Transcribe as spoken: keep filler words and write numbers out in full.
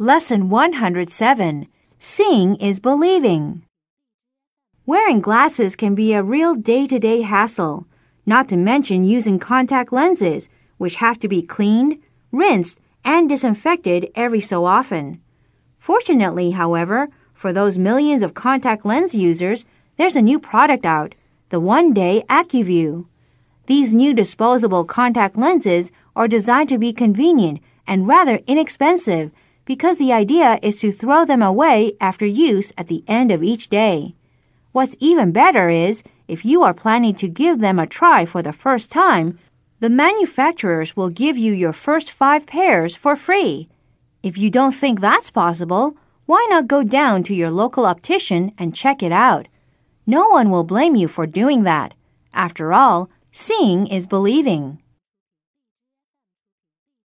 Lesson one hundred seven. Seeing is believing. Wearing glasses can be a real day-to-day hassle, not to mention using contact lenses, which have to be cleaned, rinsed, and disinfected every so often. Fortunately, however, for those millions of contact lens users, there's a new product out, the One-Day AccuView. These new disposable contact lenses are designed to be convenient and rather inexpensive because the idea is to throw them away after use at the end of each day. What's even better is, if you are planning to give them a try for the first time, the manufacturers will give you your first five pairs for free. If you don't think that's possible, why not go down to your local optician and check it out? No one will blame you for doing that. After all, seeing is believing.